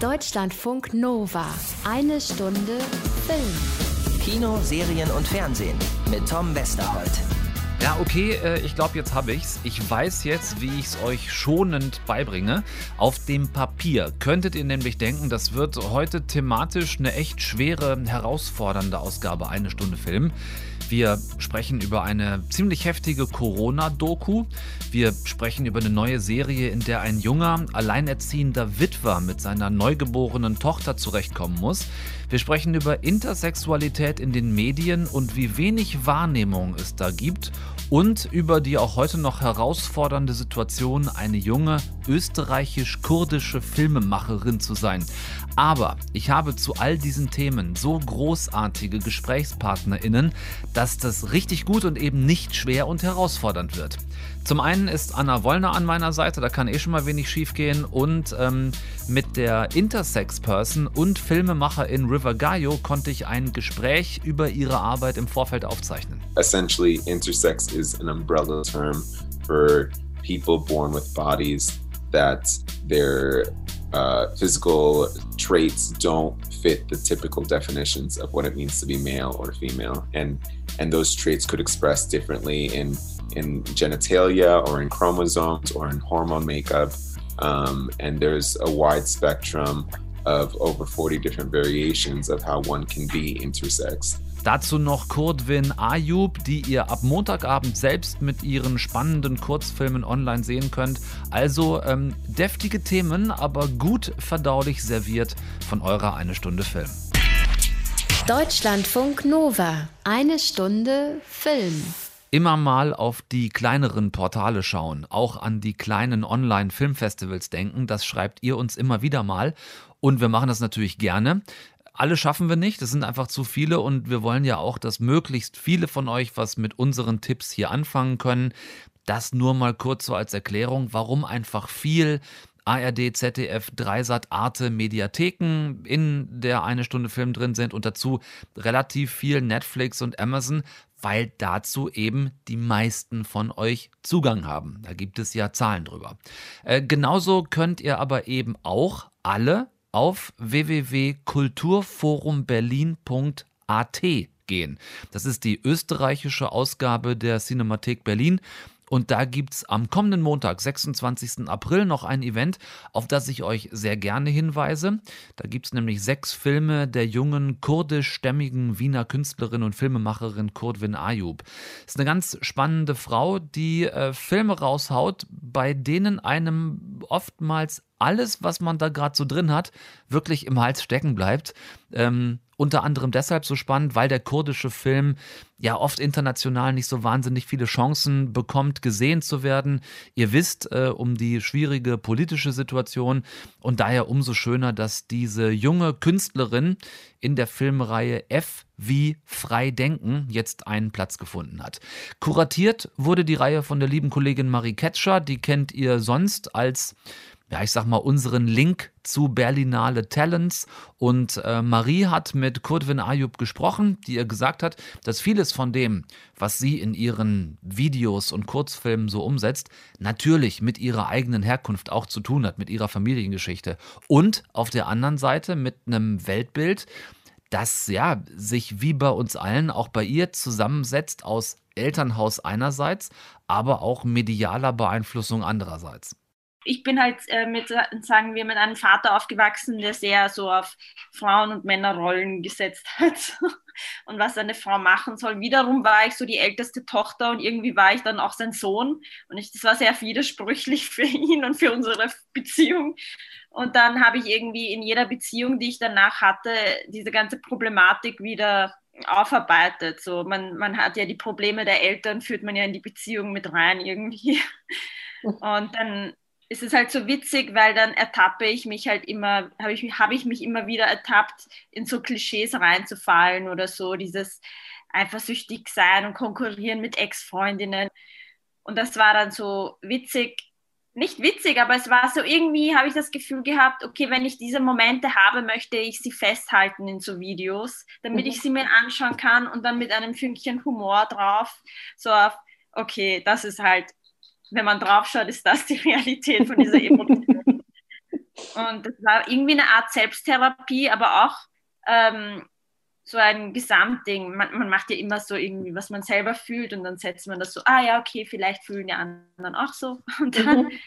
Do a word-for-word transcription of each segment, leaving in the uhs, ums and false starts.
Deutschlandfunk Nova. Eine Stunde Film. Kino, Serien und Fernsehen mit Tom Westerholt. Ja, okay, äh, ich glaube, jetzt habe ich's. Ich weiß jetzt, wie ich es euch schonend beibringe. Auf dem Papier könntet ihr nämlich denken, das wird heute thematisch eine echt schwere, herausfordernde Ausgabe, eine Stunde Film. Wir sprechen über eine ziemlich heftige Corona-Doku. Wir sprechen über eine neue Serie, in der ein junger, alleinerziehender Witwer mit seiner neugeborenen Tochter zurechtkommen muss. Wir sprechen über Intersexualität in den Medien und wie wenig Wahrnehmung es da gibt. Und über die auch heute noch herausfordernde Situation, eine junge österreichisch-kurdische Filmemacherin zu sein. Aber ich habe zu all diesen Themen so großartige GesprächspartnerInnen, dass das richtig gut und eben nicht schwer und herausfordernd wird. Zum einen ist Anna Wollner an meiner Seite, da kann eh schon mal wenig schief gehen. Und ähm, mit der Intersex-Person und Filmemacherin River Gayo konnte ich ein Gespräch über ihre Arbeit im Vorfeld aufzeichnen. Essentially, intersex is an umbrella term for people born with bodies that their uh, physical traits don't fit the typical definitions of what it means to be male or female. And, and those traits could express differently in in genitalia or in chromosomes or in hormone makeup. Um, and there's a wide spectrum of over forty different variations of how one can be intersex. Dazu noch Kurdwin Ayub, die ihr ab Montagabend selbst mit ihren spannenden Kurzfilmen online sehen könnt. Also ähm, deftige Themen, aber gut verdaulich serviert von eurer Eine Stunde Film. Deutschlandfunk Nova. Eine Stunde Film. Immer mal auf die kleineren Portale schauen, auch an die kleinen Online-Filmfestivals denken, das schreibt ihr uns immer wieder mal und wir machen das natürlich gerne. Alle schaffen wir nicht, das sind einfach zu viele und wir wollen ja auch, dass möglichst viele von euch was mit unseren Tipps hier anfangen können. Das nur mal kurz so als Erklärung, warum einfach viel A R D, Z D F, Dreisat, Arte, Mediatheken in der Eine Stunde Film drin sind und dazu relativ viel Netflix und Amazon, weil dazu eben die meisten von euch Zugang haben. Da gibt es ja Zahlen drüber. Äh, genauso könnt ihr aber eben auch alle auf w w w punkt kulturforum berlin punkt a t gehen. Das ist die österreichische Ausgabe der Cinemathek Berlin. Und da gibt es am kommenden Montag, sechsundzwanzigsten April, noch ein Event, auf das ich euch sehr gerne hinweise. Da gibt es nämlich sechs Filme der jungen kurdischstämmigen Wiener Künstlerin und Filmemacherin Kurdwin Ayub. Ist eine ganz spannende Frau, die äh, Filme raushaut, bei denen einem oftmals alles, was man da gerade so drin hat, wirklich im Hals stecken bleibt. Ähm, unter anderem deshalb so spannend, weil der kurdische Film ja oft international nicht so wahnsinnig viele Chancen bekommt, gesehen zu werden. Ihr wisst äh, um die schwierige politische Situation und daher umso schöner, dass diese junge Künstlerin in der Filmreihe F wie Frei Denken jetzt einen Platz gefunden hat. Kuratiert wurde die Reihe von der lieben Kollegin Marie Ketscher, die kennt ihr sonst als ja, ich sag mal, unseren Link zu Berlinale Talents. Und äh, Marie hat mit Kurdwin Ayub gesprochen, die ihr gesagt hat, dass vieles von dem, was sie in ihren Videos und Kurzfilmen so umsetzt, natürlich mit ihrer eigenen Herkunft auch zu tun hat, mit ihrer Familiengeschichte. Und auf der anderen Seite mit einem Weltbild, das ja sich wie bei uns allen auch bei ihr zusammensetzt aus Elternhaus einerseits, aber auch medialer Beeinflussung andererseits. Ich bin halt äh, mit, sagen wir, mit einem Vater aufgewachsen, der sehr so auf Frauen- und Männerrollen gesetzt hat und was eine Frau machen soll. Wiederum war ich so die älteste Tochter und irgendwie war ich dann auch sein Sohn und ich, das war sehr widersprüchlich für ihn und für unsere Beziehung. Und dann habe ich irgendwie in jeder Beziehung, die ich danach hatte, diese ganze Problematik wieder aufarbeitet. So, man, man hat ja die Probleme der Eltern, führt man ja in die Beziehung mit rein irgendwie. Und dann es ist halt so witzig, weil dann ertappe ich mich halt immer, habe ich, hab ich mich immer wieder ertappt, in so Klischees reinzufallen oder so, dieses eifersüchtig sein und konkurrieren mit Ex-Freundinnen. Und das war dann so witzig, nicht witzig, aber es war so irgendwie, habe ich das Gefühl gehabt, okay, wenn ich diese Momente habe, möchte ich sie festhalten in so Videos, damit mhm. ich sie mir anschauen kann und dann mit einem Fünkchen Humor drauf, so auf, okay, das ist halt, wenn man draufschaut, ist das die Realität von dieser Emotion. Und das war irgendwie eine Art Selbsttherapie, aber auch ähm, so ein Gesamtding. Man, man macht ja immer so irgendwie, was man selber fühlt und dann setzt man das so, ah ja, okay, vielleicht fühlen die anderen auch so. Und dann mhm.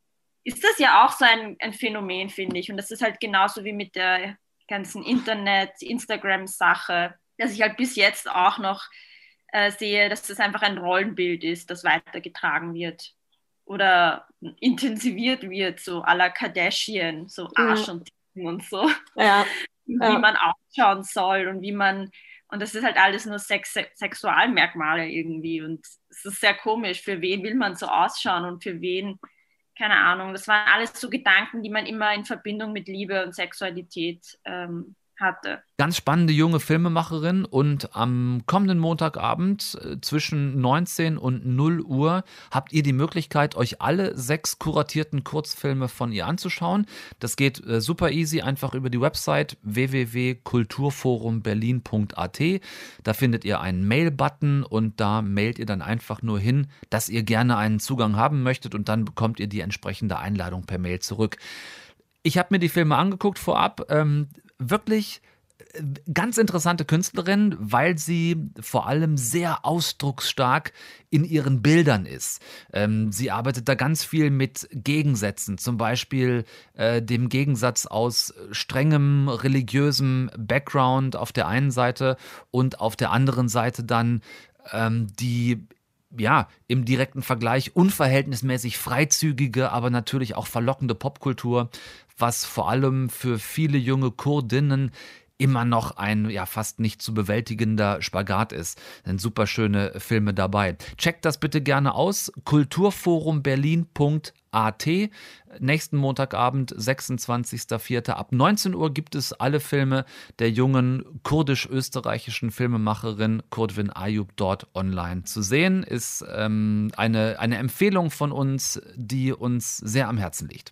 ist das ja auch so ein, ein Phänomen, finde ich. Und das ist halt genauso wie mit der ganzen Internet-, Instagram-Sache, dass ich halt bis jetzt auch noch äh, sehe, dass das einfach ein Rollenbild ist, das weitergetragen wird oder intensiviert wird, so à la Kardashian, so Arsch ja. und Titten und so. Ja. Wie ja. man ausschauen soll und wie man, und das ist halt alles nur Sex, Sexualmerkmale irgendwie und es ist sehr komisch, für wen will man so ausschauen und für wen, keine Ahnung, das waren alles so Gedanken, die man immer in Verbindung mit Liebe und Sexualität ähm, hatte. Ganz spannende junge Filmemacherin und am kommenden Montagabend äh, zwischen neunzehn und null Uhr habt ihr die Möglichkeit, euch alle sechs kuratierten Kurzfilme von ihr anzuschauen. Das geht äh, super easy, einfach über die Website w w w punkt kulturforum berlin punkt a t. Da findet ihr einen Mail-Button und da mailt ihr dann einfach nur hin, dass ihr gerne einen Zugang haben möchtet und dann bekommt ihr die entsprechende Einladung per Mail zurück. Ich habe mir die Filme angeguckt vorab, ähm, wirklich ganz interessante Künstlerin, weil sie vor allem sehr ausdrucksstark in ihren Bildern ist. Ähm, sie arbeitet da ganz viel mit Gegensätzen, zum Beispiel äh, dem Gegensatz aus strengem religiösem Background auf der einen Seite und auf der anderen Seite dann ähm, die ja, im direkten Vergleich unverhältnismäßig freizügige, aber natürlich auch verlockende Popkultur, was vor allem für viele junge Kurdinnen immer noch ein ja fast nicht zu bewältigender Spagat ist. Sind super schöne Filme dabei. Checkt das bitte gerne aus. kulturforum berlin punkt a t. Nächsten Montagabend, sechsundzwanzigster vierter ab neunzehn Uhr gibt es alle Filme der jungen kurdisch-österreichischen Filmemacherin Kurdwin Ayub dort online zu sehen. Ist ähm, eine, eine Empfehlung von uns, die uns sehr am Herzen liegt.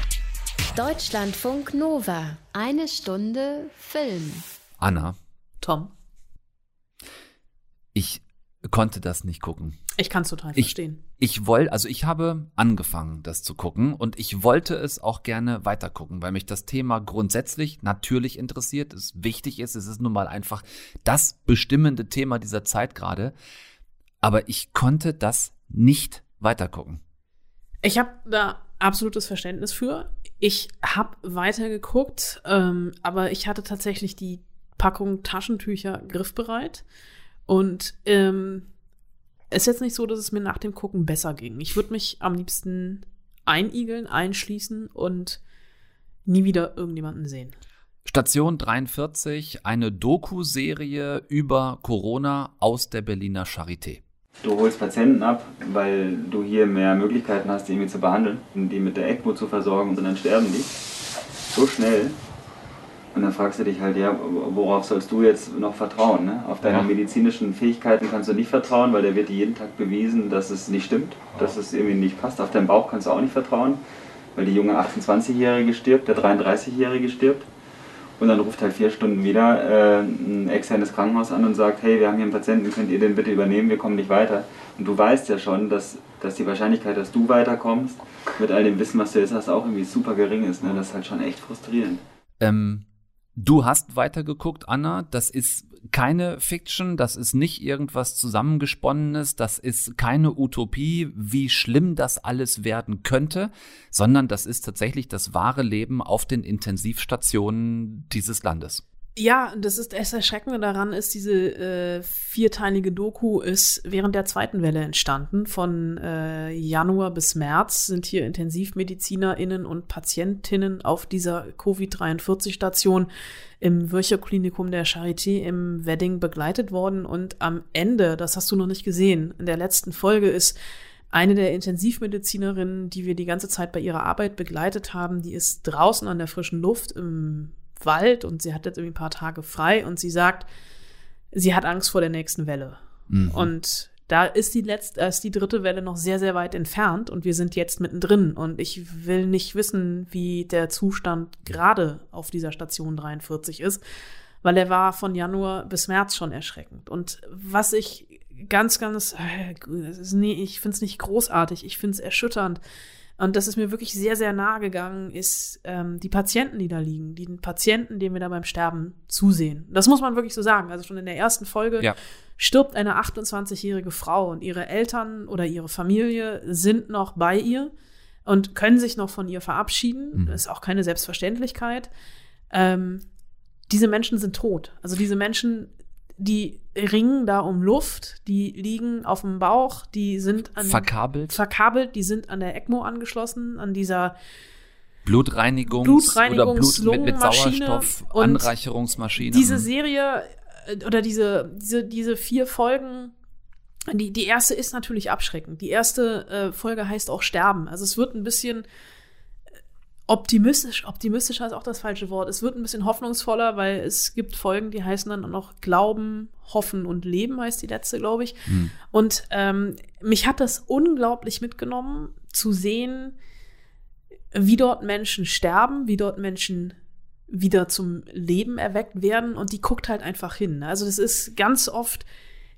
Deutschlandfunk Nova. Eine Stunde Film. Anna. Tom. Ich konnte das nicht gucken. Ich kann es total ich, verstehen. Ich wollte, also ich habe angefangen, das zu gucken und ich wollte es auch gerne weiter gucken, weil mich das Thema grundsätzlich natürlich interessiert, es wichtig ist, es ist nun mal einfach das bestimmende Thema dieser Zeit gerade, aber ich konnte das nicht weiter gucken. Ich habe da absolutes Verständnis für. Ich habe weitergeguckt, ähm, aber ich hatte tatsächlich die Packung Taschentücher griffbereit. Und ähm, es ist jetzt nicht so, dass es mir nach dem Gucken besser ging. Ich würde mich am liebsten einigeln, einschließen und nie wieder irgendjemanden sehen. Station dreiundvierzig, eine Doku-Serie über Corona aus der Berliner Charité. Du holst Patienten ab, weil du hier mehr Möglichkeiten hast, die irgendwie zu behandeln, die mit der ECMO zu versorgen und dann sterben die. So schnell. Und dann fragst du dich halt, ja, worauf sollst du jetzt noch vertrauen? Ne? Auf deine ja. medizinischen Fähigkeiten kannst du nicht vertrauen, weil da wird dir jeden Tag bewiesen, dass es nicht stimmt, dass es irgendwie nicht passt. Auf deinen Bauch kannst du auch nicht vertrauen, weil die junge achtundzwanzigjährige stirbt, der dreiunddreißigjährige stirbt. Und dann ruft halt vier Stunden wieder äh, ein externes Krankenhaus an und sagt, hey, wir haben hier einen Patienten, könnt ihr den bitte übernehmen, wir kommen nicht weiter. Und du weißt ja schon, dass, dass die Wahrscheinlichkeit, dass du weiterkommst, mit all dem Wissen, was du jetzt hast, auch irgendwie super gering ist. Ne? Das ist halt schon echt frustrierend. Ähm, du hast weitergeguckt, Anna. Das ist keine Fiction, das ist nicht irgendwas Zusammengesponnenes, das ist keine Utopie, wie schlimm das alles werden könnte, sondern das ist tatsächlich das wahre Leben auf den Intensivstationen dieses Landes. Ja, das ist das Erschreckende daran ist, diese äh, vierteilige Doku ist während der zweiten Welle entstanden. Von äh, Januar bis März sind hier IntensivmedizinerInnen und PatientInnen auf dieser Covid dreiundvierzig Station im Virchow-Klinikum der Charité im Wedding begleitet worden. Und am Ende, das hast du noch nicht gesehen, in der letzten Folge ist eine der Intensivmedizinerinnen, die wir die ganze Zeit bei ihrer Arbeit begleitet haben, die ist draußen an der frischen Luft im Wald und sie hat jetzt irgendwie ein paar Tage frei und sie sagt, sie hat Angst vor der nächsten Welle. Mhm. Und da ist die letzte, ist die dritte Welle noch sehr, sehr weit entfernt und wir sind jetzt mittendrin und ich will nicht wissen, wie der Zustand gerade auf dieser Station dreiundvierzig ist, weil er war von Januar bis März schon erschreckend. Und was ich ganz, ganz, äh, nee, ich finde es nicht großartig, ich finde es erschütternd, Und das ist mir wirklich sehr, sehr nahe gegangen, ist ähm, die Patienten, die da liegen, die Patienten, denen wir da beim Sterben zusehen. Das muss man wirklich so sagen. Also schon in der ersten Folge ja. stirbt eine achtundzwanzigjährige Frau und ihre Eltern oder ihre Familie sind noch bei ihr und können sich noch von ihr verabschieden. Mhm. Das ist auch keine Selbstverständlichkeit. Ähm, diese Menschen sind tot. Also diese Menschen, die ringen da um Luft, die liegen auf dem Bauch, die sind an, verkabelt. verkabelt, die sind an der ECMO angeschlossen, an dieser Blutreinigungs- Blutreinigungs- oder Blut mit, mit Sauerstoff, Anreicherungsmaschine. Diese Serie oder diese, diese, diese vier Folgen, die, die erste ist natürlich abschreckend. Die erste äh, Folge heißt auch Sterben. Also es wird ein bisschen optimistisch, optimistischer ist auch das falsche Wort. Es wird ein bisschen hoffnungsvoller, weil es gibt Folgen, die heißen dann auch noch Glauben, Hoffen und Leben, heißt die letzte, glaube ich. Hm. Und ähm, mich hat das unglaublich mitgenommen, zu sehen, wie dort Menschen sterben, wie dort Menschen wieder zum Leben erweckt werden. Und die guckt halt einfach hin. Also das ist ganz oft,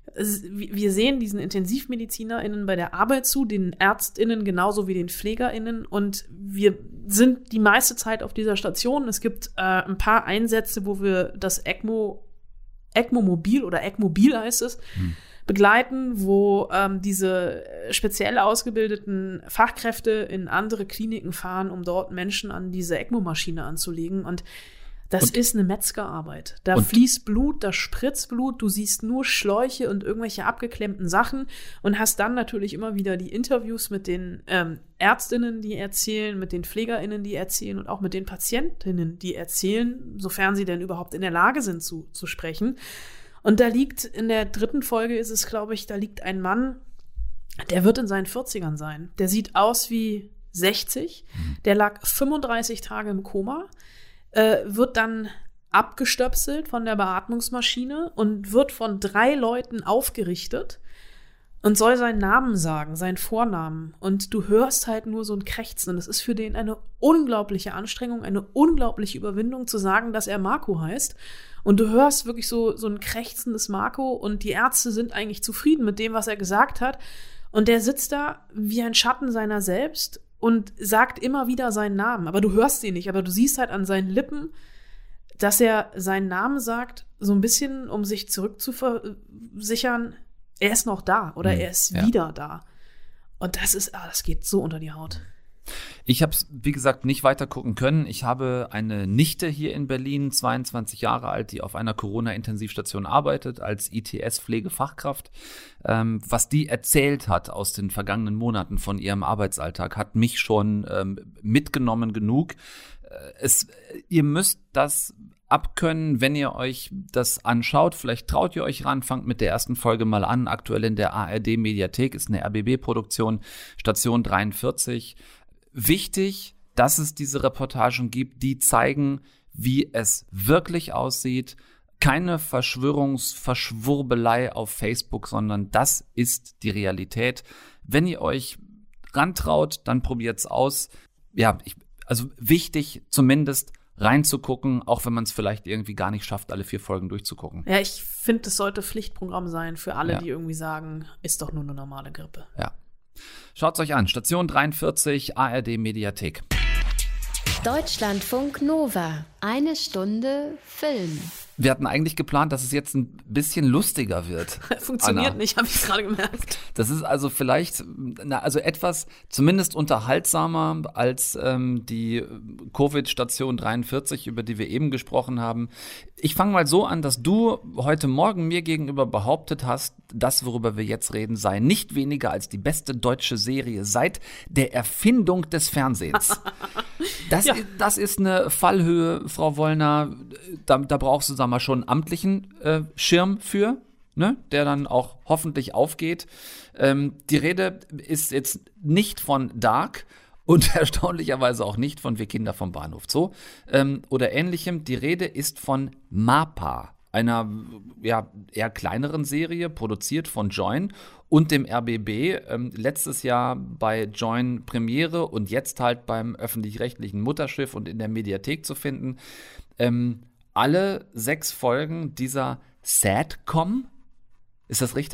wir sehen diesen IntensivmedizinerInnen bei der Arbeit zu, den ÄrztInnen genauso wie den PflegerInnen, und wir sind die meiste Zeit auf dieser Station. Es gibt äh, ein paar Einsätze, wo wir das ECMO, ECMO-Mobil oder ECMobil heißt es, hm. begleiten, wo ähm, diese speziell ausgebildeten Fachkräfte in andere Kliniken fahren, um dort Menschen an diese ECMO-Maschine anzulegen. Und das und, ist eine Metzgerarbeit. Da fließt Blut, da spritzt Blut, du siehst nur Schläuche und irgendwelche abgeklemmten Sachen und hast dann natürlich immer wieder die Interviews mit den ähm, Ärztinnen, die erzählen, mit den PflegerInnen, die erzählen und auch mit den Patientinnen, die erzählen, sofern sie denn überhaupt in der Lage sind zu, zu sprechen. Und da liegt, in der dritten Folge ist es, glaube ich, da liegt ein Mann, der wird in seinen vierzigern sein. Der sieht aus wie sechzig, der lag fünfunddreißig Tage im Koma, Äh, wird dann abgestöpselt von der Beatmungsmaschine und wird von drei Leuten aufgerichtet und soll seinen Namen sagen, seinen Vornamen. Und du hörst halt nur so ein Krächzen. Und es ist für den eine unglaubliche Anstrengung, eine unglaubliche Überwindung zu sagen, dass er Marco heißt. Und du hörst wirklich so, so ein krächzendes Marco und die Ärzte sind eigentlich zufrieden mit dem, was er gesagt hat. Und der sitzt da wie ein Schatten seiner selbst und sagt immer wieder seinen Namen. Aber du hörst ihn nicht, aber du siehst halt an seinen Lippen, dass er seinen Namen sagt, so ein bisschen, um sich zurückzuversichern, er ist noch da oder mhm, er ist ja. wieder da. Und das ist, ah, das geht so unter die Haut. Ich habe es, wie gesagt, nicht weiter gucken können. Ich habe eine Nichte hier in Berlin, zweiundzwanzig Jahre alt, die auf einer Corona-Intensivstation arbeitet, als I T S-Pflegefachkraft. Ähm, was die erzählt hat aus den vergangenen Monaten von ihrem Arbeitsalltag, hat mich schon ähm, mitgenommen genug. Äh, es, ihr müsst das abkönnen, wenn ihr euch das anschaut. Vielleicht traut ihr euch ran, fangt mit der ersten Folge mal an. Aktuell in der A R D-Mediathek, ist eine R B B-Produktion, Station dreiundvierzig. Wichtig, dass es diese Reportagen gibt, die zeigen, wie es wirklich aussieht. Keine Verschwörungsverschwurbelei auf Facebook, sondern das ist die Realität. Wenn ihr euch rantraut, dann probiert's aus. Ja, ich, also wichtig, zumindest reinzugucken, auch wenn man es vielleicht irgendwie gar nicht schafft, alle vier Folgen durchzugucken. Ja, ich finde, es sollte Pflichtprogramm sein für alle, ja. die irgendwie sagen, ist doch nur eine normale Grippe. Ja. Schaut's euch an. Station dreiundvierzig, A R D-Mediathek. Deutschlandfunk Nova. Eine Stunde Film. Wir hatten eigentlich geplant, dass es jetzt ein bisschen lustiger wird. Funktioniert Anna. nicht, habe ich gerade gemerkt. Das ist also vielleicht, na, also etwas zumindest unterhaltsamer als ähm, die Covid-Station dreiundvierzig, über die wir eben gesprochen haben. Ich fange mal so an, dass du heute Morgen mir gegenüber behauptet hast, das, worüber wir jetzt reden, sei nicht weniger als die beste deutsche Serie seit der Erfindung des Fernsehens. Das, ja. ist, das ist eine Fallhöhe, Frau Wollner. Da, da brauchst du, sag mal, schon einen amtlichen äh, Schirm für, ne, der dann auch hoffentlich aufgeht. Ähm, die Rede ist jetzt nicht von Dark und erstaunlicherweise auch nicht von Wir Kinder vom Bahnhof Zoo ähm, oder ähnlichem. Die Rede ist von MAPA, einer ja, eher kleineren Serie, produziert von Joyn und dem R B B, ähm, letztes Jahr bei Joyn Premiere und jetzt halt beim öffentlich-rechtlichen Mutterschiff und in der Mediathek zu finden. Ähm, alle sechs Folgen dieser Sadcom, ist das richtig?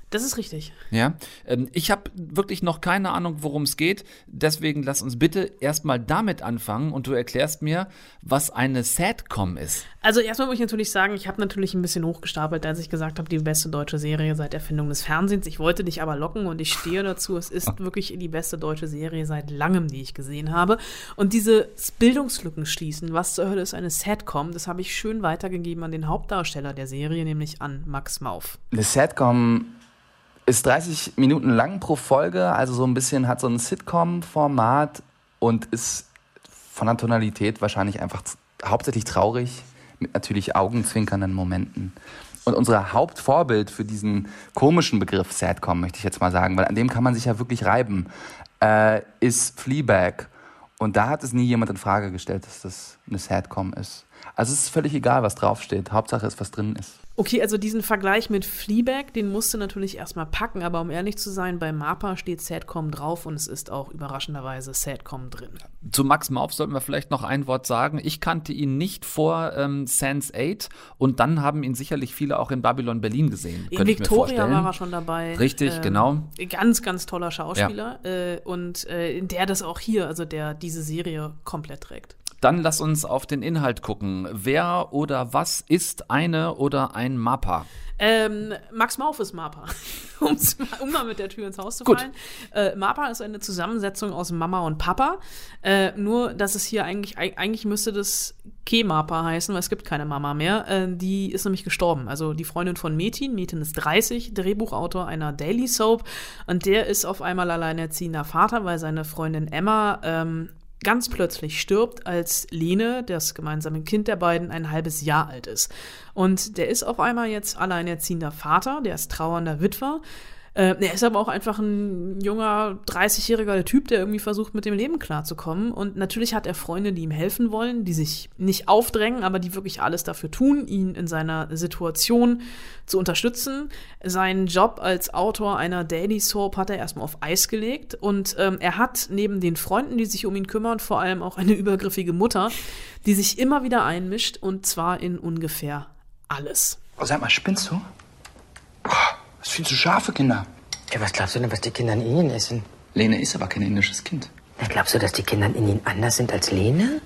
Das ist richtig. Ja, ähm, ich habe wirklich noch keine Ahnung, worum es geht. Deswegen lass uns bitte erstmal damit anfangen und du erklärst mir, was eine Sadcom ist. Also erstmal muss ich natürlich sagen, ich habe natürlich ein bisschen hochgestapelt, als ich gesagt habe, die beste deutsche Serie seit Erfindung des Fernsehens. Ich wollte dich aber locken und ich stehe dazu. Es ist wirklich die beste deutsche Serie seit langem, die ich gesehen habe. Und diese Bildungslücken schließen, was zur Hölle ist eine Sadcom, das habe ich schön weitergegeben an den Hauptdarsteller der Serie, nämlich an Max Mauf. Eine Sadcom ist dreißig Minuten lang pro Folge, also so ein bisschen hat so ein Sitcom-Format und ist von der Tonalität wahrscheinlich einfach hauptsächlich traurig, mit natürlich augenzwinkernden Momenten. Und unser Hauptvorbild für diesen komischen Begriff Sadcom, möchte ich jetzt mal sagen, weil an dem kann man sich ja wirklich reiben, äh, ist Fleabag. Und da hat es nie jemand in Frage gestellt, dass das eine Sadcom ist. Also es ist völlig egal, was draufsteht. Hauptsache ist, was drin ist. Okay, also diesen Vergleich mit Fleabag, den musst du natürlich erstmal packen, aber um ehrlich zu sein, bei Mapa steht Sadcom drauf und es ist auch überraschenderweise Sadcom drin. Zu Max Mauf sollten wir vielleicht noch ein Wort sagen. Ich kannte ihn nicht vor ähm, Sense eight und dann haben ihn sicherlich viele auch in Babylon Berlin gesehen. In Victoria war er schon dabei. Richtig, ähm, genau. Ganz, ganz toller Schauspieler ja. äh, und äh, der das auch hier, also der diese Serie komplett trägt. Dann lass uns auf den Inhalt gucken. Wer oder was ist eine oder ein Mappa? Ähm, Max Mauf ist Mappa, Um's, um mal mit der Tür ins Haus zu fallen. Äh, Mappa ist eine Zusammensetzung aus Mama und Papa. Äh, nur, dass es hier eigentlich, eigentlich müsste das Ke-Mappa heißen, weil es gibt keine Mama mehr. Äh, die ist nämlich gestorben. Also die Freundin von Metin. Metin ist dreißig, Drehbuchautor einer Daily Soap. Und der ist auf einmal alleinerziehender Vater, weil seine Freundin Emma ähm, ganz plötzlich stirbt, als Lene, das gemeinsame Kind der beiden, ein halbes Jahr alt ist. Und der ist auf einmal jetzt alleinerziehender Vater, der ist trauernder Witwer. Äh, er ist aber auch einfach ein junger, dreißigjähriger Typ, der irgendwie versucht, mit dem Leben klarzukommen. Und natürlich hat er Freunde, die ihm helfen wollen, die sich nicht aufdrängen, aber die wirklich alles dafür tun, ihn in seiner Situation zu unterstützen. Seinen Job als Autor einer Daily Soap hat er erstmal auf Eis gelegt. Und ähm, er hat neben den Freunden, die sich um ihn kümmern, vor allem auch eine übergriffige Mutter, die sich immer wieder einmischt, und zwar in ungefähr alles. Oh, sag mal, spinnst du? Oh, das ist viel zu scharf für Kinder. Ja, was glaubst du denn, was die Kinder in Indien essen? Lene ist aber kein indisches Kind. Na, glaubst du, dass die Kinder in Indien anders sind als Lene?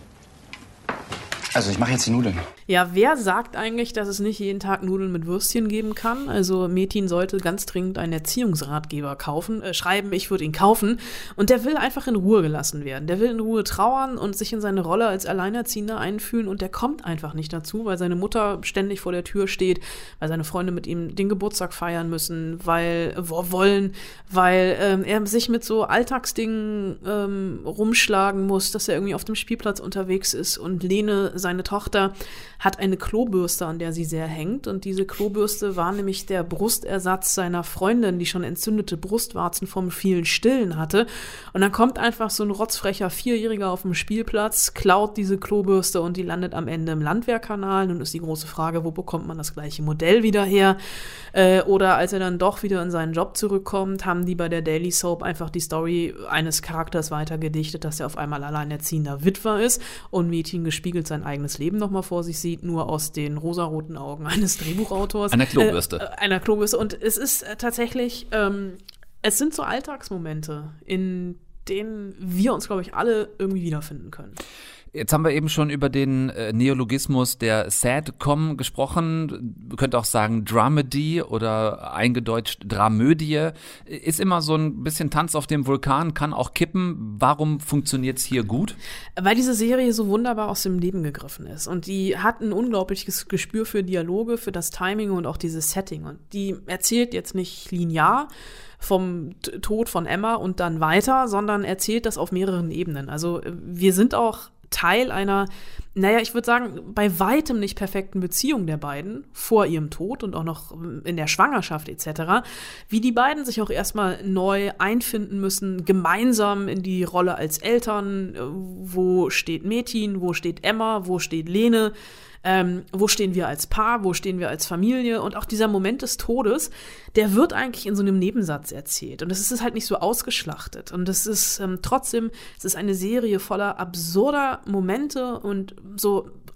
Also ich mache jetzt die Nudeln. Ja, wer sagt eigentlich, dass es nicht jeden Tag Nudeln mit Würstchen geben kann? Also Metin sollte ganz dringend einen Erziehungsratgeber kaufen, äh, schreiben, ich würde ihn kaufen. Und der will einfach in Ruhe gelassen werden. Der will in Ruhe trauern und sich in seine Rolle als Alleinerziehender einfühlen. Und der kommt einfach nicht dazu, weil seine Mutter ständig vor der Tür steht, weil seine Freunde mit ihm den Geburtstag feiern müssen, weil äh, wollen, weil ähm, er sich mit so Alltagsdingen ähm, rumschlagen muss, dass er irgendwie auf dem Spielplatz unterwegs ist. Und Lene, seine Tochter, hat eine Klobürste, an der sie sehr hängt. Und diese Klobürste war nämlich der Brustersatz seiner Freundin, die schon entzündete Brustwarzen vom vielen Stillen hatte. Und dann kommt einfach so ein rotzfrecher Vierjähriger auf dem Spielplatz, klaut diese Klobürste und die landet am Ende im Landwehrkanal. Nun ist die große Frage, wo bekommt man das gleiche Modell wieder her? Äh, oder als er dann doch wieder in seinen Job zurückkommt, haben die bei der Daily Soap einfach die Story eines Charakters weitergedichtet, dass er auf einmal alleinerziehender Witwer ist und Metin gespiegelt sein eigenes Leben nochmal vor sich sieht, nur aus den rosaroten Augen eines Drehbuchautors. Einer Klobürste. Äh, einer Klobürste. Und es ist äh, tatsächlich, ähm, es sind so Alltagsmomente, in denen wir uns, glaube ich, alle irgendwie wiederfinden können. Jetzt haben wir eben schon über den äh, Neologismus der Sadcom gesprochen. Man könnte auch sagen Dramedy oder eingedeutscht Dramödie. Ist immer so ein bisschen Tanz auf dem Vulkan, kann auch kippen. Warum funktioniert es hier gut? Weil diese Serie so wunderbar aus dem Leben gegriffen ist. Und die hat ein unglaubliches Gespür für Dialoge, für das Timing und auch dieses Setting. Und die erzählt jetzt nicht linear vom Tod von Emma und dann weiter, sondern erzählt das auf mehreren Ebenen. Also wir sind auch Teil einer, naja, ich würde sagen, bei weitem nicht perfekten Beziehung der beiden vor ihrem Tod und auch noch in der Schwangerschaft et cetera, wie die beiden sich auch erstmal neu einfinden müssen, gemeinsam in die Rolle als Eltern. Wo steht Metin, wo steht Emma, wo steht Lene? Ähm, wo stehen wir als Paar, wo stehen wir als Familie? Und auch dieser Moment des Todes, der wird eigentlich in so einem Nebensatz erzählt. Und es ist halt nicht so ausgeschlachtet. Und es ist ähm, trotzdem, es ist eine Serie voller absurder Momente und so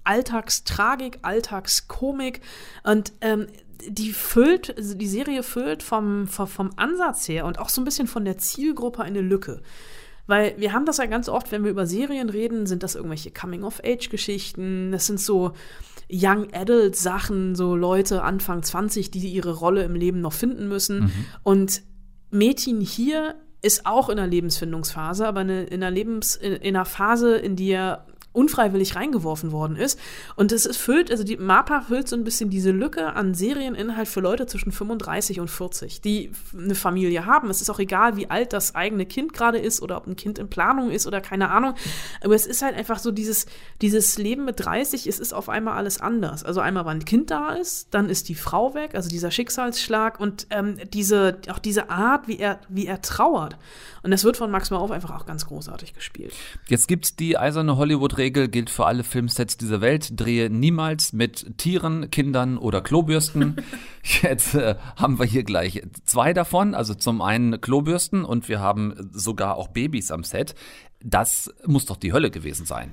Alltagstragik, Alltagskomik und ähm, die füllt, also die Serie füllt vom, vom, vom Ansatz her und auch so ein bisschen von der Zielgruppe eine Lücke. Weil wir haben das ja ganz oft, wenn wir über Serien reden, sind das irgendwelche Coming-of-Age-Geschichten, das sind so Young-Adult-Sachen, so Leute Anfang zwanzig, die ihre Rolle im Leben noch finden müssen. Mhm. Und Metin hier ist auch in einer Lebensfindungsphase, aber eine, in, einer Lebens, in, in einer Phase, in die er unfreiwillig reingeworfen worden ist. Und es ist füllt, also die MAPA füllt so ein bisschen diese Lücke an Serieninhalt für Leute zwischen fünfunddreißig und vierzig, die eine Familie haben. Es ist auch egal, wie alt das eigene Kind gerade ist oder ob ein Kind in Planung ist oder keine Ahnung. Aber es ist halt einfach so dieses, dieses Leben mit dreißig, es ist auf einmal alles anders. Also einmal, wann ein Kind da ist, dann ist die Frau weg, also dieser Schicksalsschlag und ähm, diese, auch diese Art, wie er, wie er trauert. Und das wird von Max Mauf einfach auch ganz großartig gespielt. Jetzt gibt's die eiserne Hollywood-Regel, gilt für alle Filmsets dieser Welt. Drehe niemals mit Tieren, Kindern oder Klobürsten. Jetzt äh, haben wir hier gleich zwei davon. Also zum einen Klobürsten und wir haben sogar auch Babys am Set. Das muss doch die Hölle gewesen sein.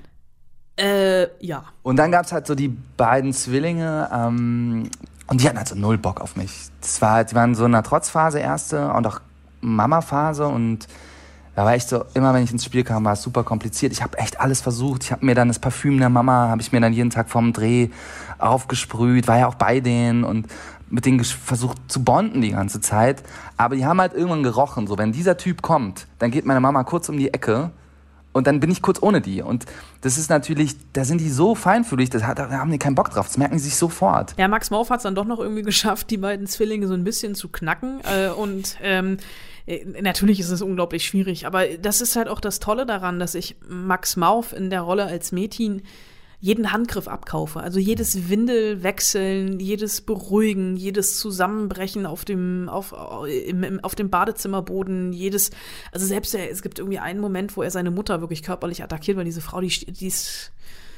Äh, ja. Und dann gab's halt so die beiden Zwillinge, ähm, und die hatten halt so null Bock auf mich. Das war, die waren so in einer Trotzphase erste und auch Mama-Phase und da war echt so, immer wenn ich ins Spiel kam, war es super kompliziert. Ich habe echt alles versucht. Ich habe mir dann das Parfüm der Mama, habe ich mir dann jeden Tag vorm Dreh aufgesprüht, war ja auch bei denen und mit denen versucht zu bonden die ganze Zeit. Aber die haben halt irgendwann gerochen, so wenn dieser Typ kommt, dann geht meine Mama kurz um die Ecke und dann bin ich kurz ohne die. Und das ist natürlich, da sind die so feinfühlig, das hat, da haben die keinen Bock drauf, das merken sie sich sofort. Ja, Max Mauf hat es dann doch noch irgendwie geschafft, die beiden Zwillinge so ein bisschen zu knacken äh, und ähm, natürlich ist es unglaublich schwierig, aber das ist halt auch das Tolle daran, dass ich Max Mauf in der Rolle als Metin jeden Handgriff abkaufe. Also jedes Windelwechseln, jedes Beruhigen, jedes Zusammenbrechen auf dem, auf, im, im, auf dem Badezimmerboden, jedes, also selbst er, es gibt irgendwie einen Moment, wo er seine Mutter wirklich körperlich attackiert, weil diese Frau, die, die ist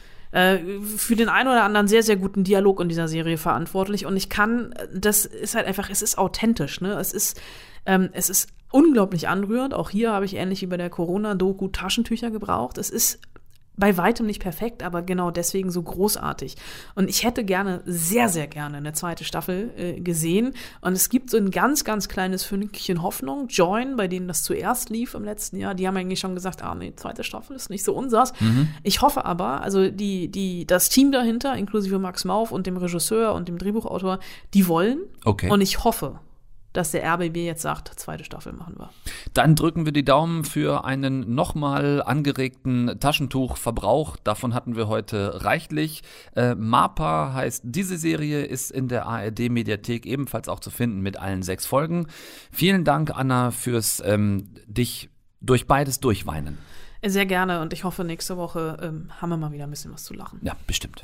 äh, für den einen oder anderen sehr, sehr guten Dialog in dieser Serie verantwortlich und ich kann, das ist halt einfach, es ist authentisch, ne? Es ist, ähm, es ist unglaublich anrührend. Auch hier habe ich ähnlich wie bei der Corona-Doku Taschentücher gebraucht. Es ist bei weitem nicht perfekt, aber genau deswegen so großartig. Und ich hätte gerne, sehr, sehr gerne eine zweite Staffel äh, gesehen. Und es gibt so ein ganz, ganz kleines Fünkchen Hoffnung. Join, bei denen das zuerst lief im letzten Jahr, die haben eigentlich schon gesagt, ah nee, zweite Staffel ist nicht so unsers. Mhm. Ich hoffe aber, also die, die, das Team dahinter, inklusive Max Mauf und dem Regisseur und dem Drehbuchautor, die wollen. Okay. Und ich hoffe, dass der R B B jetzt sagt, zweite Staffel machen wir. Dann drücken wir die Daumen für einen nochmal angeregten Taschentuchverbrauch. Davon hatten wir heute reichlich. Äh, MAPA heißt diese Serie, ist in der A R D-Mediathek ebenfalls auch zu finden mit allen sechs Folgen. Vielen Dank, Anna, fürs ähm, dich durch beides durchweinen. Sehr gerne und ich hoffe, nächste Woche ähm, haben wir mal wieder ein bisschen was zu lachen. Ja, bestimmt.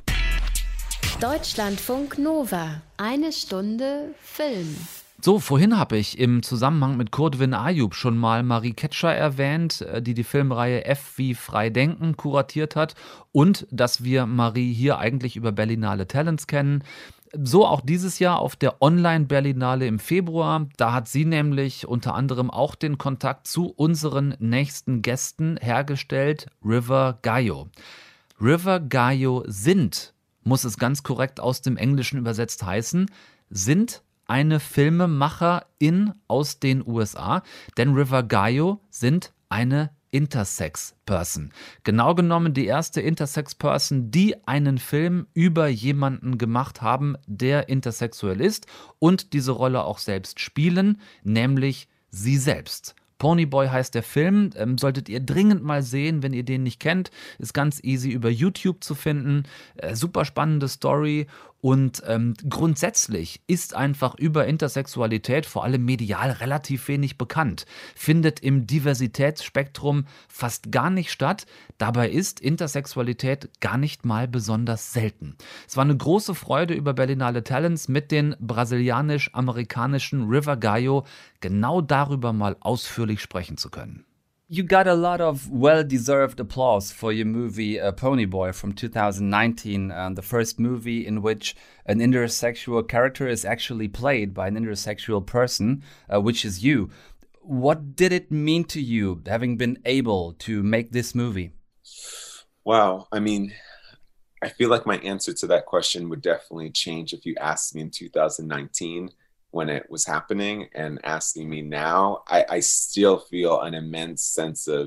Deutschlandfunk Nova. Eine Stunde Film. So, vorhin habe ich im Zusammenhang mit Kurdwin Ayub schon mal Marie Ketscher erwähnt, die die Filmreihe F wie Frei Denken kuratiert hat und dass wir Marie hier eigentlich über Berlinale Talents kennen. So auch dieses Jahr auf der Online-Berlinale im Februar. Da hat sie nämlich unter anderem auch den Kontakt zu unseren nächsten Gästen hergestellt, River Gayo. River Gayo sind, muss es ganz korrekt aus dem Englischen übersetzt heißen, sind eine Filmemacherin aus den U S A, denn River Gayo sind eine Intersex-Person. Genau genommen die erste Intersex-Person, die einen Film über jemanden gemacht haben, der intersexuell ist und diese Rolle auch selbst spielen, nämlich sie selbst. Ponyboy heißt der Film, ähm, solltet ihr dringend mal sehen, wenn ihr den nicht kennt. Ist ganz easy über YouTube zu finden. Äh, super spannende Story und ähm, grundsätzlich ist einfach über Intersexualität vor allem medial relativ wenig bekannt. Findet im Diversitätsspektrum fast gar nicht statt. Dabei ist Intersexualität gar nicht mal besonders selten. Es war eine große Freude, über Berlinale Talents mit den brasilianisch-amerikanischen River Gayo genau darüber mal ausführlich sprechen zu können. You got a lot of well-deserved applause for your movie uh, Ponyboy from two thousand nineteen, uh, the first movie in which an intersexual character is actually played by an intersexual person, uh, which is you. What did it mean to you, having been able to make this movie? Wow, I mean, I feel like my answer to that question would definitely change if you asked me in two thousand nineteen when it was happening, and asking me now. I, I still feel an immense sense of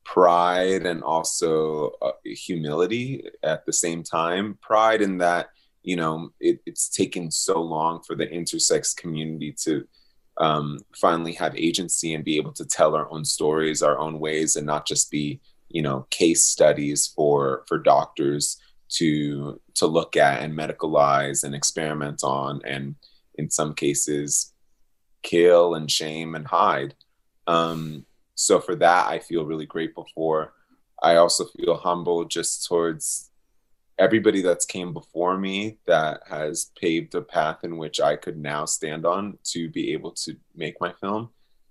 pride and also uh, humility at the same time. Pride in that, you know, it, it's taken so long for the intersex community to um, finally have agency and be able to tell our own stories, our own ways, and not just be, you know, case studies for for doctors to to look at and medicalize and experiment on, and in some cases kill and shame and hide. Um, so for that, I feel really grateful for. I also feel humble just towards everybody that's came before me that has paved a path in which I could now stand on to be able to make my film.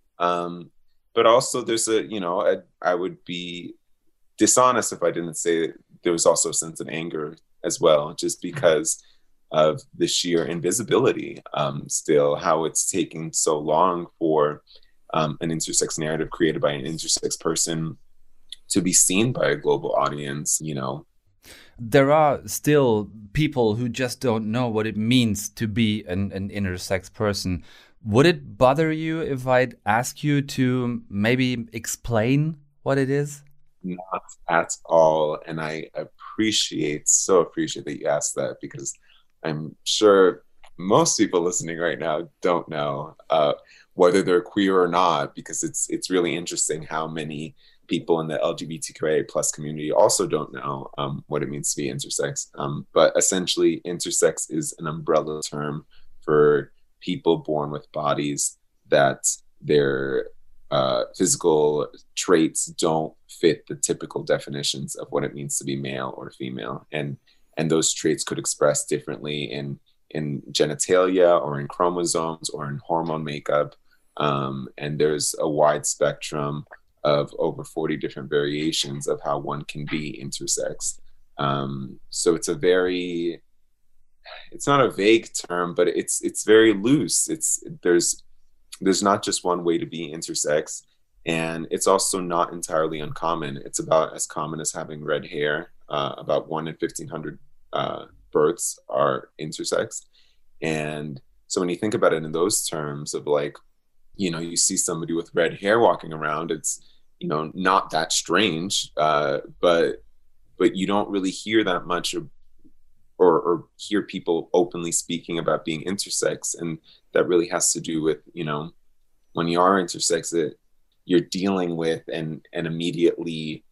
Um, but also there's a, you know, a, I would be dishonest if I didn't say that there was also a sense of anger as well, just because of the sheer invisibility, um, still, how it's taking so long for um, an intersex narrative created by an intersex person to be seen by a global audience, you know. There are still people who just don't know what it means to be an, an intersex person. Would it bother you if I'd ask you to maybe explain what it is? Not at all. And I appreciate, so appreciate that you asked that, because I'm sure most people listening right now don't know uh, whether they're queer or not, because it's it's really interesting how many people in the L G B T Q I A plus community also don't know um, what it means to be intersex. Um, but essentially, intersex is an umbrella term for people born with bodies that their uh, physical traits don't fit the typical definitions of what it means to be male or female. And and those traits could express differently in in genitalia or in chromosomes or in hormone makeup. Um, and there's a wide spectrum of over forty different variations of how one can be intersex. Um, so it's a very, it's not a vague term, but it's it's very loose. It's there's there's not just one way to be intersex, and it's also not entirely uncommon. It's about as common as having red hair. Uh, about one in fifteen hundred uh, births are intersex, and so when you think about it in those terms of like, you know, you see somebody with red hair walking around, it's, you know, not that strange, uh, but but you don't really hear that much or, or or hear people openly speaking about being intersex, and that really has to do with, you know, when you are intersex, it, you're dealing with and and immediately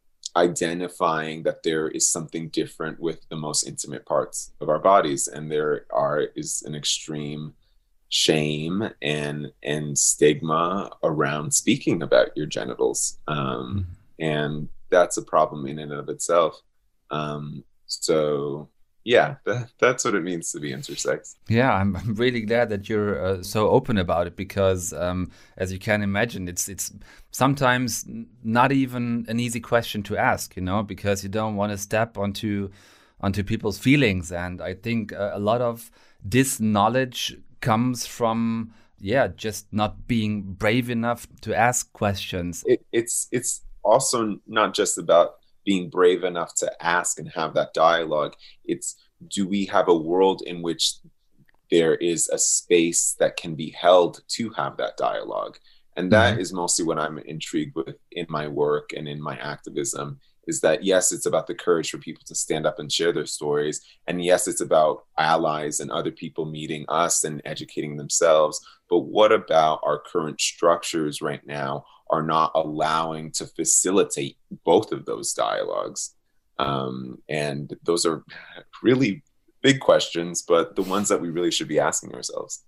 identifying that there is something different with the most intimate parts of our bodies, and there are is an extreme shame and and stigma around speaking about your genitals, um, and that's a problem in and of itself. Um, so yeah, that, that's what it means to be intersex. Yeah, I'm, I'm really glad that you're uh, so open about it, because um, as you can imagine, it's it's sometimes not even an easy question to ask, you know, because you don't want to step onto onto people's feelings. And I think uh, a lot of this knowledge comes from, yeah, just not being brave enough to ask questions. It, it's it's also not just about being brave enough to ask and have that dialogue. It's, do we have a world in which there is a space that can be held to have that dialogue? And that mm-hmm. is mostly what I'm intrigued with in my work and in my activism, is that, yes, it's about the courage for people to stand up and share their stories. And yes, it's about allies and other people meeting us and educating themselves. But what about our current structures right now are not allowing to facilitate both of those dialogues? Um, and those are really big questions, but the ones that we really should be asking ourselves.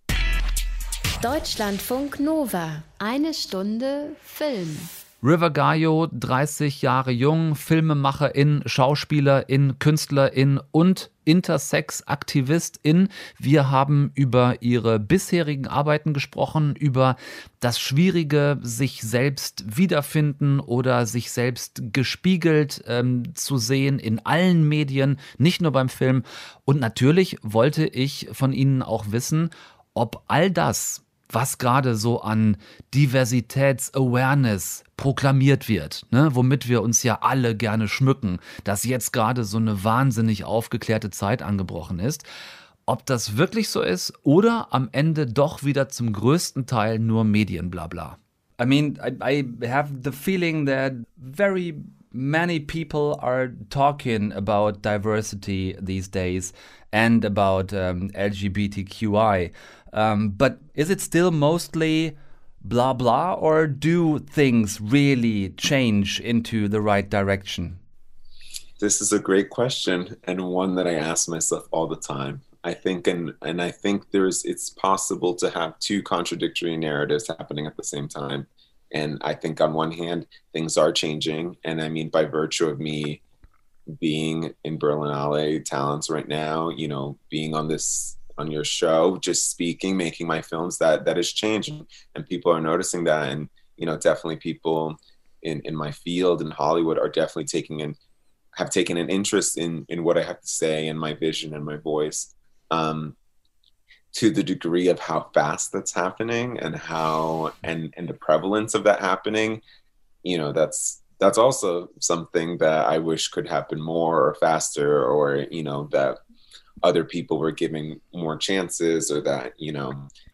Deutschlandfunk Nova. Eine Stunde Film. River Gayo, dreißig Jahre jung, Filmemacherin, Schauspielerin, Künstlerin und Intersex-Aktivistin. Wir haben über ihre bisherigen Arbeiten gesprochen, über das schwierige sich selbst wiederfinden oder sich selbst gespiegelt ähm, zu sehen in allen Medien, nicht nur beim Film. Und natürlich wollte ich von Ihnen auch wissen, ob all das was gerade so an Diversitäts-Awareness proklamiert wird, ne? Womit wir uns ja alle gerne schmücken, dass jetzt gerade so eine wahnsinnig aufgeklärte Zeit angebrochen ist. Ob das wirklich so ist oder am Ende doch wieder zum größten Teil nur Medienblabla. I mean, I, I have the feeling that very many people are talking about diversity these days and about um, L G B T Q I. Um, but is it still mostly blah blah, or do things really change into the right direction? This is a great question, and one that I ask myself all the time. I think, and and I think there's, it's possible to have two contradictory narratives happening at the same time. And I think on one hand, things are changing. And I mean, by virtue of me being in Berlinale Talents right now, you know, being on this, on your show, just speaking, making my films, that that is changing. And people are noticing that. And, you know, definitely people in, in my field in Hollywood are definitely taking in, have taken an interest in, in what I have to say and my vision and my voice. Um, to the degree of how fast that's happening and how, and, and the prevalence of that happening, you know, that's, that's also something that I wish could happen more or faster, or, you know, that other people were giving more chances, or that, you know,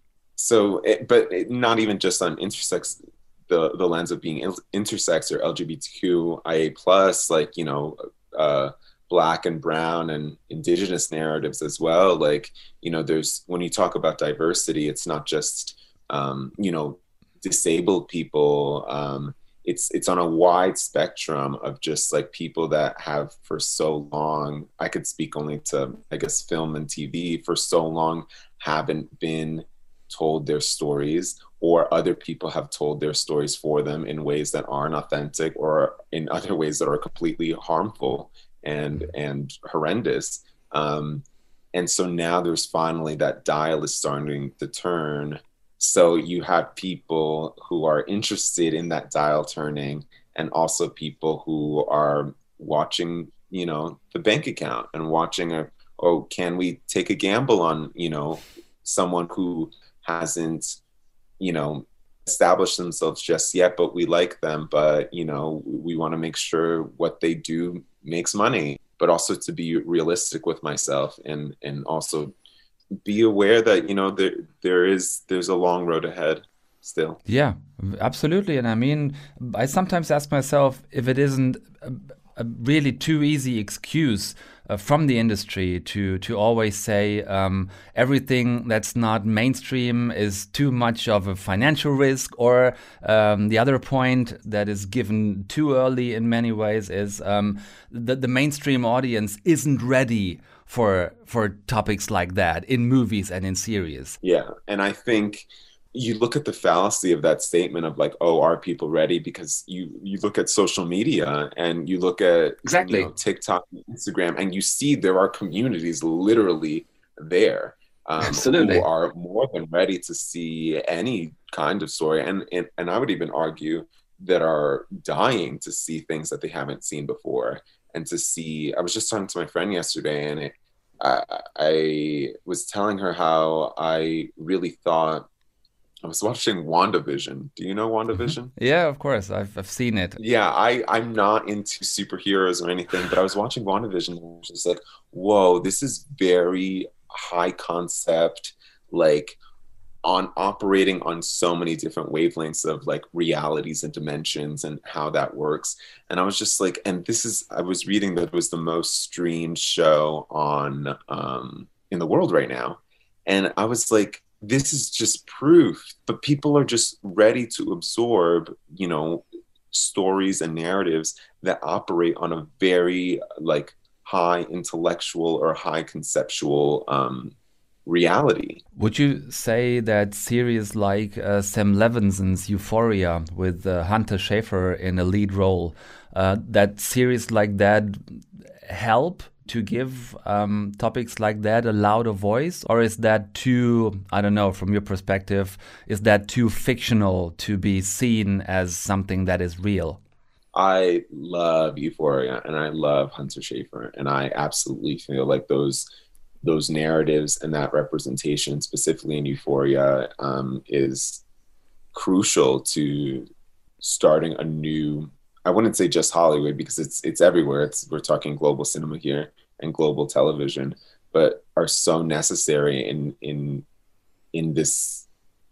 so, it, but it, not even just on intersex, the, the lens of being intersex or L G B T Q I A plus, like, you know, uh, Black and brown and indigenous narratives as well. Like, you know, there's, when you talk about diversity, it's not just, um, you know, disabled people. Um, it's, it's on a wide spectrum of just like people that have for so long, I could speak only to, I guess, film and T V, for so long haven't been told their stories, or other people have told their stories for them in ways that aren't authentic, or in other ways that are completely harmful and and horrendous. Um, and so now there's finally, that dial is starting to turn. So you have people who are interested in that dial turning, and also people who are watching, you know, the bank account and watching, a, oh, can we take a gamble on, you know, someone who hasn't, you know, established themselves just yet, but we like them, but, you know, we want to make sure what they do makes money, but also to be realistic with myself, and and also be aware that, you know, there there is there's a long road ahead still. Yeah, absolutely. And I mean, I sometimes ask myself if it isn't a, a really too easy excuse uh, from the industry to to always say um, everything that's not mainstream is too much of a financial risk, or um, the other point that is given too early in many ways is um, that the mainstream audience isn't ready for for topics like that in movies and in series. Yeah, and I think you look at the fallacy of that statement of like, oh, are people ready? Because you you look at social media and you look at exactly you know, TikTok and Instagram, and you see there are communities literally there um, Absolutely. who are more than ready to see any kind of story. And, and, and I would even argue that are dying to see things that they haven't seen before. And to see, I was just talking to my friend yesterday, and it, I, I was telling her how I really thought, I was watching WandaVision. Do you know WandaVision? Yeah, of course. I've I've seen it. Yeah, I, I'm not into superheroes or anything, but I was watching WandaVision and I was just like, whoa, this is very high concept, like on operating on so many different wavelengths of like realities and dimensions and how that works. And I was just like, and this is, I was reading that it was the most streamed show on um, in the world right now. And I was like, this is just proof, but people are just ready to absorb, you know, stories and narratives that operate on a very like high intellectual or high conceptual um, reality. Would you say that series like uh, Sam Levinson's Euphoria with uh, Hunter Schafer in a lead role, uh, that series like that help to give um, topics like that a louder voice? Or is that too, I don't know, from your perspective, is that too fictional to be seen as something that is real? I love Euphoria and I love Hunter Schafer, and I absolutely feel like those those narratives and that representation, specifically in Euphoria, um, is crucial to starting a new, I wouldn't say just Hollywood, because it's it's everywhere. It's we're talking global cinema here and global television, but are so necessary in in in this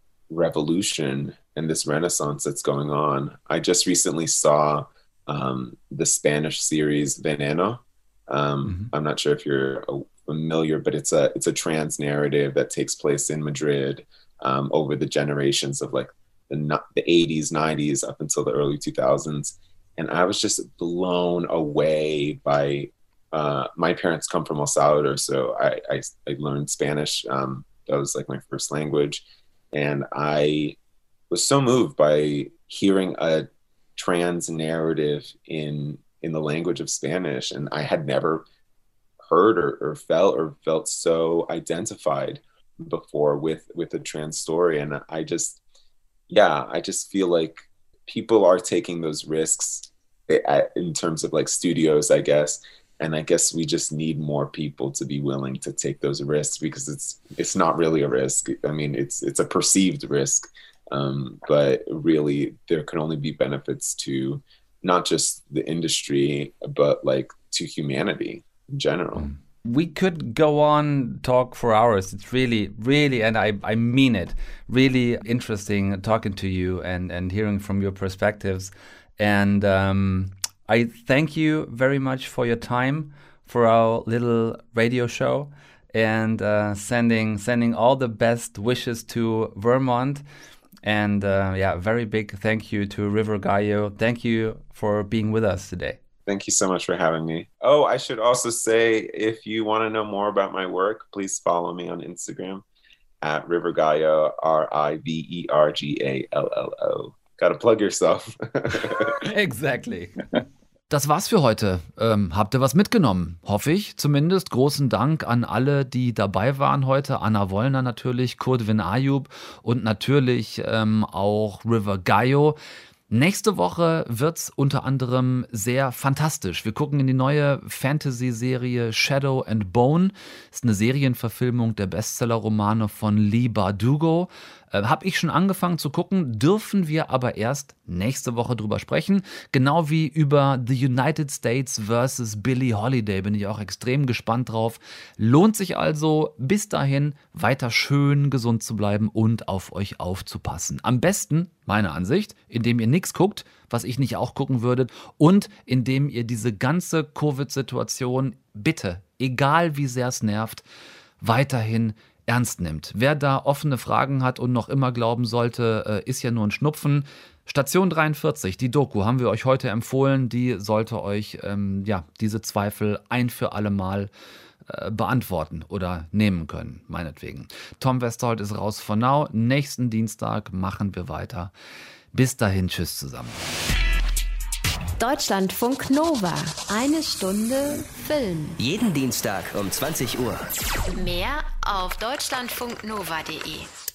revolution and this renaissance that's going on. I just recently saw um, the Spanish series Veneno. Um, mm-hmm. I'm not sure if you're familiar, but it's a it's a trans narrative that takes place in Madrid um, over the generations of like the the eighties, nineties up until the early two thousands. And I was just blown away by, uh, my parents come from El Salvador, so I, I, I learned Spanish. Um, that was like my first language. And I was so moved by hearing a trans narrative in in the language of Spanish. And I had never heard or, or felt or felt so identified before with, with a trans story. And I just, yeah, I just feel like people are taking those risks in terms of like studios, I guess. And I guess we just need more people to be willing to take those risks, because it's it's not really a risk. I mean, it's it's a perceived risk, um, but really there can only be benefits to not just the industry, but like to humanity in general. We could go on talk for hours. It's really, really, and I, I mean it, really interesting talking to you and, and hearing from your perspectives. And um, I thank you very much for your time for our little radio show, and uh, sending sending all the best wishes to Vermont. And uh, yeah, very big thank you to River Gallo. Thank you for being with us today. Thank you so much for having me. Oh, I should also say, if you want to know more about my work, please follow me on Instagram at River Gallo, R I V E R G A L L O. Gotta plug yourself. Exactly. Das war's für heute. Ähm, habt ihr was mitgenommen? Hoffe ich zumindest. Großen Dank an alle, die dabei waren heute. Anna Wollner natürlich, Kurdwin Ayub und natürlich ähm, auch River Gallo. Nächste Woche wird's unter anderem sehr fantastisch. Wir gucken in die neue Fantasy-Serie Shadow and Bone. Ist eine Serienverfilmung der Bestseller-Romane von Leigh Bardugo. Äh, Habe ich schon angefangen zu gucken, dürfen wir aber erst nächste Woche drüber sprechen. Genau wie über The United States versus Billie Holiday. Bin ich auch extrem gespannt drauf. Lohnt sich also, bis dahin weiter schön gesund zu bleiben und auf euch aufzupassen. Am besten, meiner Ansicht, indem ihr nichts guckt, was ich nicht auch gucken würde, und indem ihr diese ganze Covid-Situation bitte, egal wie sehr es nervt, weiterhin ernst nimmt. Wer da offene Fragen hat und noch immer glauben sollte, ist ja nur ein Schnupfen. Station dreiundvierzig, die Doku, haben wir euch heute empfohlen. Die sollte euch ähm, ja, diese Zweifel ein für alle Mal äh, beantworten oder nehmen können, meinetwegen. Tom Westerholt ist raus for now. Nächsten Dienstag machen wir weiter. Bis dahin, tschüss zusammen. Deutschlandfunk Nova. Eine Stunde Film. Jeden Dienstag um zwanzig Uhr. Mehr auf deutschlandfunknova punkt de.